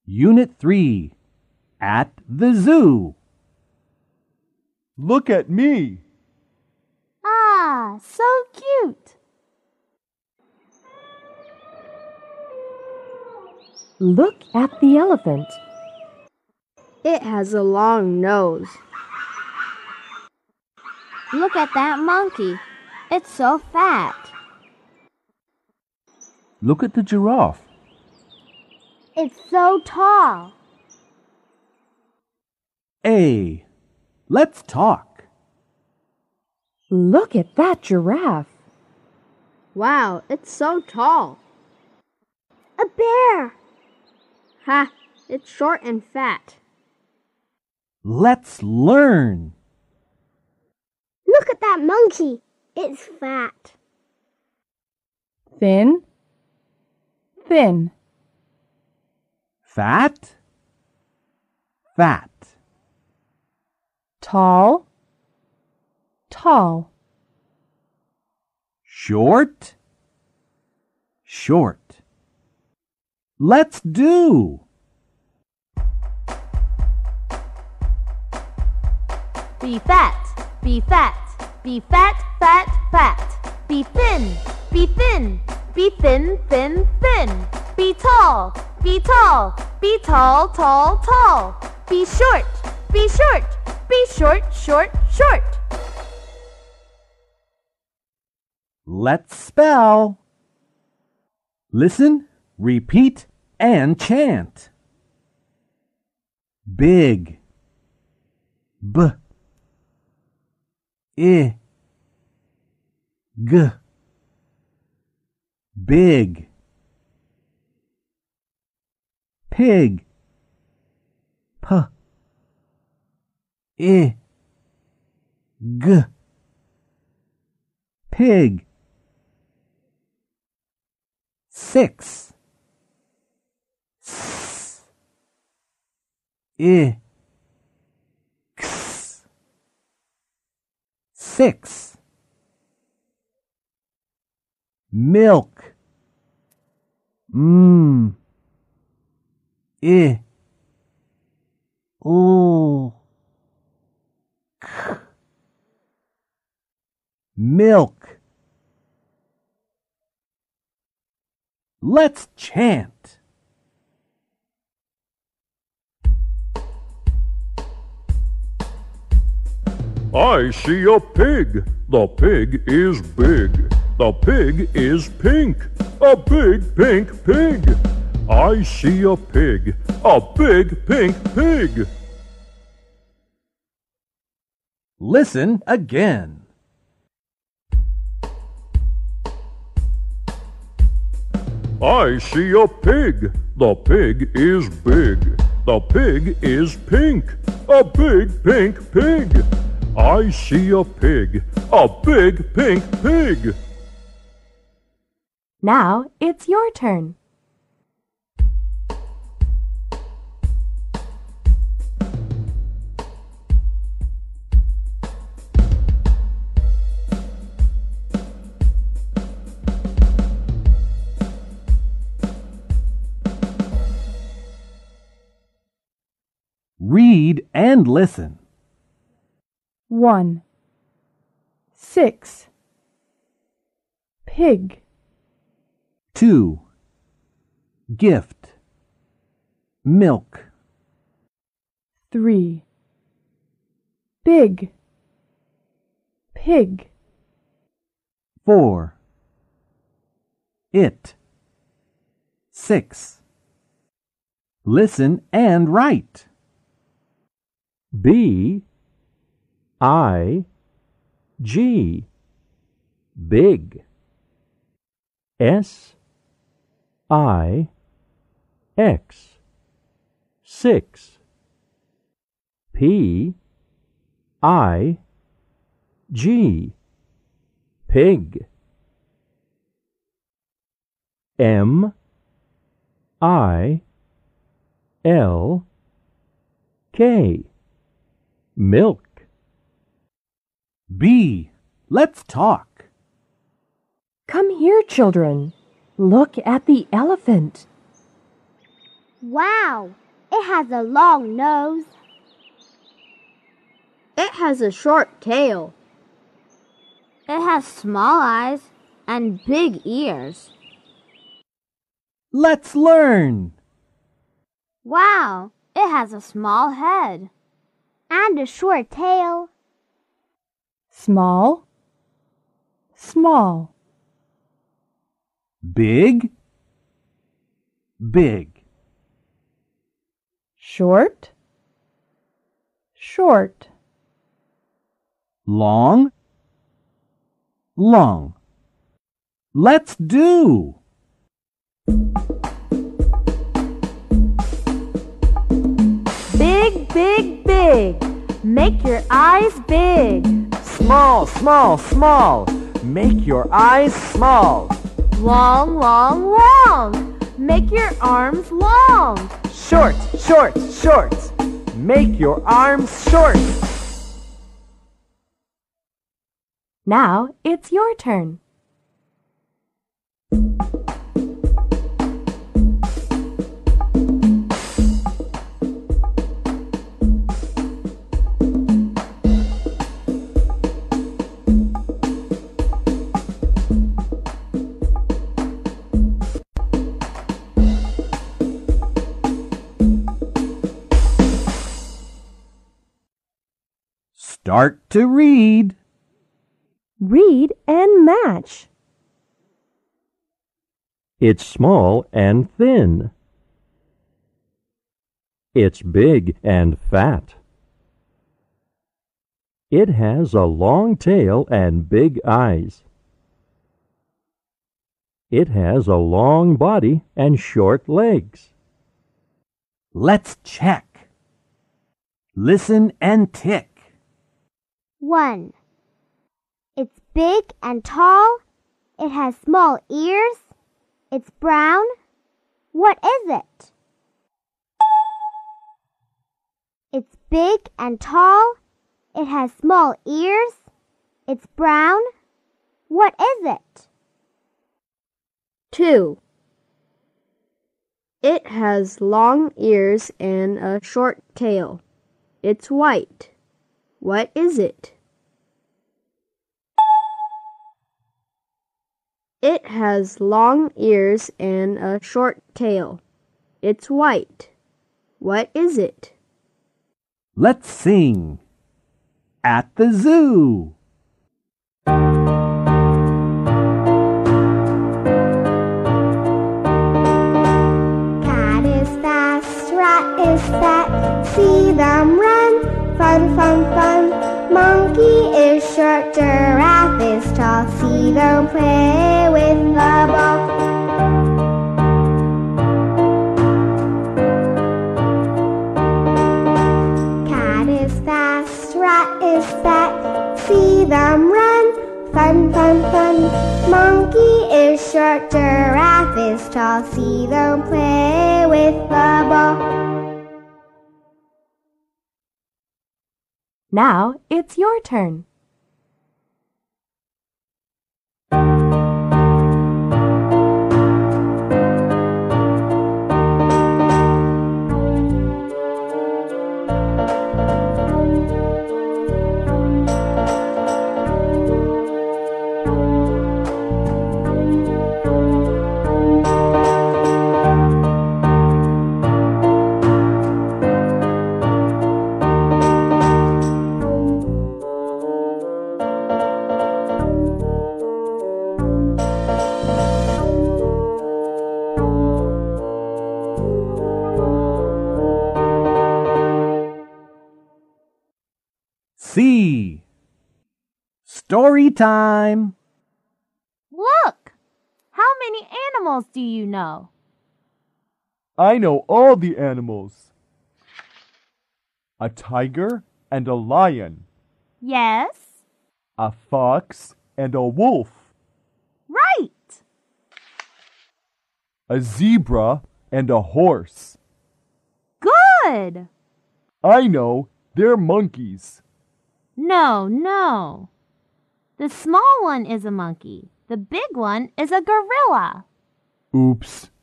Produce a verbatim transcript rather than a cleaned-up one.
Unit three. At the zoo. Look at me. Ah, so cute. Look at the elephant. It has a long nose. Look at that monkey. It's so fat. Look at the giraffe. It's so tall. A. Let's talk. Look at that giraffe. Wow, it's so tall. A bear. Ha, it's short and fat. Let's learn. Look at that monkey. It's fat. Thin, thin. Fat, fat. Tall, tall. Short, short. Let's do. Be fat, be fat, be fat, fat, fat. Be thin, be thin, be thin, thin, thin. Be tall, be tall, be tall, tall, tall. Be short, be short, be short, short, short. Let's spell. Listen, repeat, and chant. Big. B. I. G. Big. Pig. P. I. G. Pig. Six. S. I. X. Six. Milk. Mmm. I. O. K. Milk. Let's chant. I see a pig. The pig is big. The pig is pink. A big pink pig. I see a pig. A big pink pig. Listen again. I see a pig. The pig is big. The pig is pink. A big pink pig. I see a pig. A big pink pig. Now it's your turn. Read and listen. One. Six. Pig. Two. Gift. Milk. Three. Big. Pig. Four. It. Six. Listen and write. B. I. G. Big. S. I. X. Six. P. I. G. Pig. M. I. L. K. Milk. B. Let's talk. Come here, children. Look at the elephant. Wow, it has a long nose. It has a short tail. It has small eyes and big ears. Let's learn. Wow, it has a small head and a short tail. Small, small. Big, big. Short, short. Long, long. Let's do. Big, big, big. Make your eyes big. Small, small, small. Make your eyes small. Long, long, long. Make your arms long. Short, short, short. Make your arms short. Now it's your turn. Start to read. Read and match. It's small and thin. It's big and fat. It has a long tail and big eyes. It has a long body and short legs. Let's check. Listen and tick. One. It's big and tall. It has small ears. It's brown. What is it? It's big and tall. It has small ears. It's brown. What is it? Two. It has long ears and a short tail. It's white. What is it? It has long ears and a short tail. It's white. What is it? Let's sing. At the zoo. Cat is fast, rat is fat. See them run. Fun, fun, fun. Monkey is short, giraffe is tall. See them play with the ball. Cat is fast, rat is fat. See them run. Fun, fun, fun. Monkey is short, giraffe is tall. See them play with the ball. Now it's your turn. C. Story time. Look! How many animals do you know? I know all the animals. A tiger and a lion. Yes? A fox and a wolf. Right! A zebra and a horse. Good! I know, they're monkeys. No, no. The small one is a monkey. The big one is a gorilla. Oops.